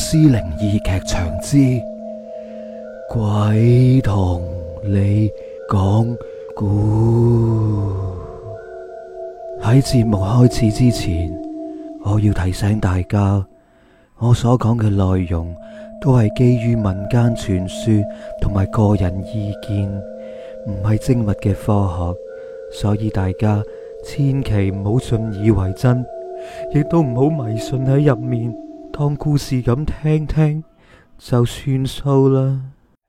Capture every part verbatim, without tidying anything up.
屍靈異劇場之鬼同你講故。喺節目開始之前，我要提醒大家，我所講嘅內容都係基於民間傳說同埋個人意見，唔係精密嘅科學，所以大家千祈唔好信以為真，亦都唔好迷信喺入面，當故事咁聽聽就算數啦。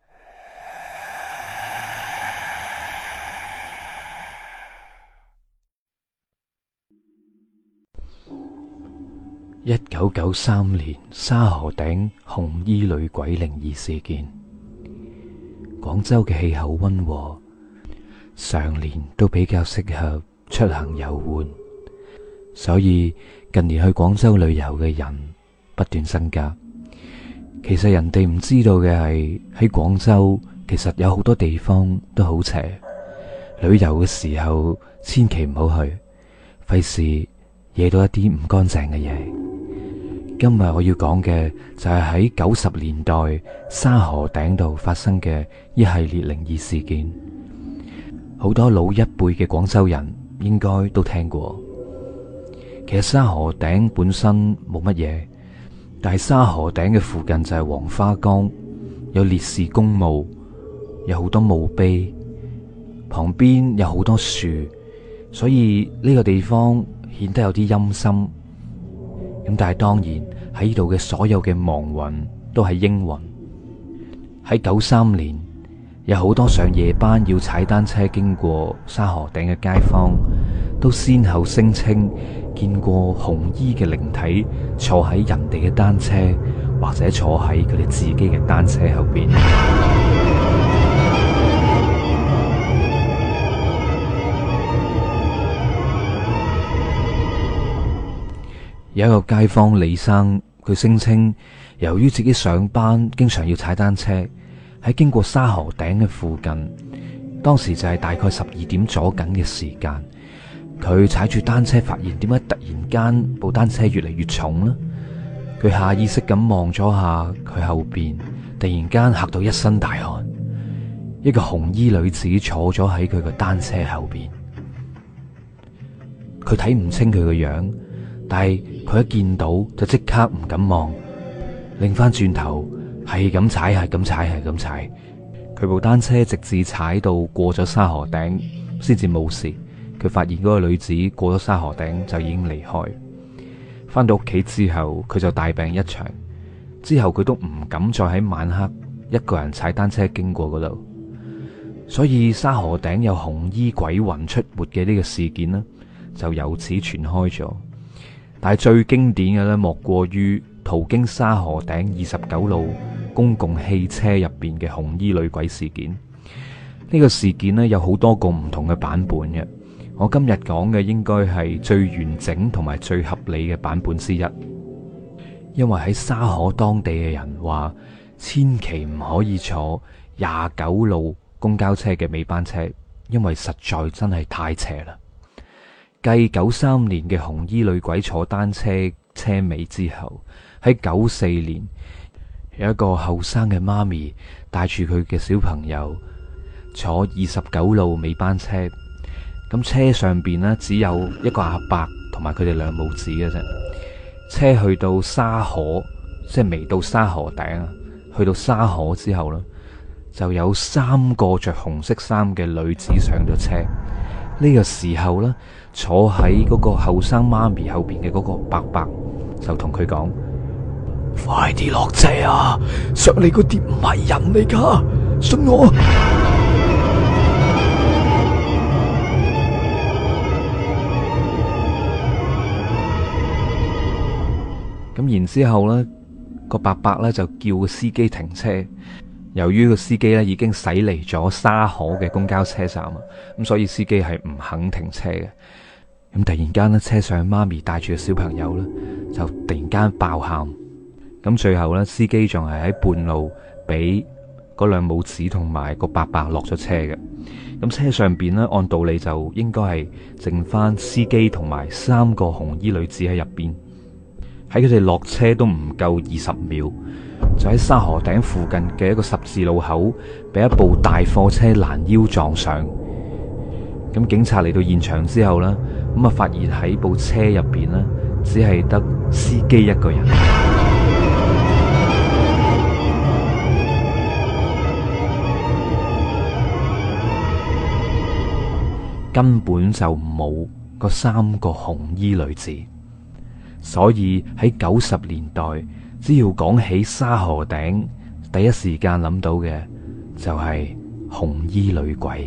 一九九三年沙河頂紅衣女鬼靈異事件。廣州嘅氣候溫和，常年都比較適合出行遊玩，所以近年去廣州旅遊嘅人不斷增加。其實人哋唔知道嘅係，喺廣州其實有好多地方都好邪，旅遊嘅時候千祈唔好去，費事惹到一啲唔乾淨嘅嘢。今日我要講嘅就係喺九十年代沙河頂度發生嘅一系列靈異事件，好多老一輩嘅廣州人應該都聽過。其實沙河頂本身冇乜嘢，但係沙河頂嘅附近就係黃花崗，有烈士公墓，有好多墓碑，旁邊有好多樹，所以呢個地方顯得有啲陰森。咁但係當然喺呢度嘅所有嘅亡魂都係英魂。喺九三年，有好多上夜班要踩單車經過沙河頂嘅街坊，都先後聲稱見過紅衣嘅靈體坐喺人哋嘅單車，或者坐喺佢哋自己嘅單車後邊。有一個街坊李生，佢聲稱由於自己上班經常要踩單車，喺經過沙河頂嘅附近，當時就係大概十二點左緊嘅時間，佢踩住單車發現點解突然間部單車越嚟越重呢？佢下意識咁望咗下佢後邊，突然間嚇到一身大汗，一個紅衣女子坐咗喺佢個單車後邊，佢睇唔清佢個樣，但係佢一見到就即刻唔敢望，擰翻轉頭係咁踩，係咁踩，係咁踩。佢部單車直至踩到過咗沙河頂先至冇事。佢發現嗰個女子過咗沙河頂就已經離開。翻到屋企之後，佢就大病一場。之後佢都唔敢再喺晚黑一個人踩單車經過嗰度。所以沙河頂有紅衣鬼魂出沒嘅呢個事件呢，就由此傳開咗。但係最經典嘅咧，莫過於途經沙河頂二十九路公共汽車入邊嘅紅衣女鬼事件。呢個事件咧有好多個唔同嘅版本嘅，我今日講嘅應該係最完整同埋最合理嘅版本之一。因為喺沙河當地嘅人話，千祈唔可以坐廿九路公交車嘅尾班車，因為實在真係太邪啦。繼九三年嘅紅衣女鬼坐單車車尾之後，喺九四年有一個後生嘅媽咪帶住佢嘅小朋友坐二十九路尾班車，咁車上邊呢，只有一個阿伯同埋佢哋兩母子嘅啫。車去到沙河，即係未到沙河頂啊，去到沙河之後呢，就有三個着紅色衫嘅女子上咗車。呢個時候呢，坐喺嗰個後生媽咪後邊嘅嗰個伯伯就同佢講：快啲落車啊！上嚟嗰啲唔係人嚟噶，信我。咁然之後呢，個伯伯呢就叫個司機停車。由於個司機咧已經駛離咗沙河嘅公交車站啊，咁所以司機係唔肯停車嘅。咁突然間咧，車上媽咪帶住個小朋友咧，就突然間爆喊。咁最後咧，司機仲係喺半路俾嗰兩母子同埋個伯伯落咗車嘅。咁車上邊咧，按道理就應該係剩翻司機同埋三個紅衣女子喺入邊。 喺佢哋落車都唔夠二十秒，就喺沙河頂附近嘅一個十字路口，俾一部大貨車攔腰撞上。咁警察嚟到現場之後呢，咁啊發現喺部車入邊呢，只係得司機一個人，根本就冇嗰三個紅衣女子。所以喺九十年代，只要講起沙河頂，第一時間諗到嘅就係紅衣女鬼。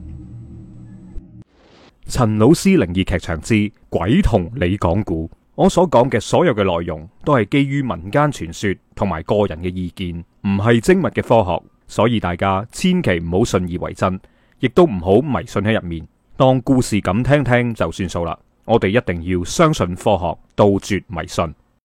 陳老師靈異劇場之鬼同你講故，我所講嘅所有嘅內容都係基於民間傳說同埋個人嘅意見，唔係精密嘅科學，所以大家千祈唔好信以為真，亦都唔好迷信喺入面，當故事咁聽聽就算數啦。我哋一定要相信科學，杜絕迷信。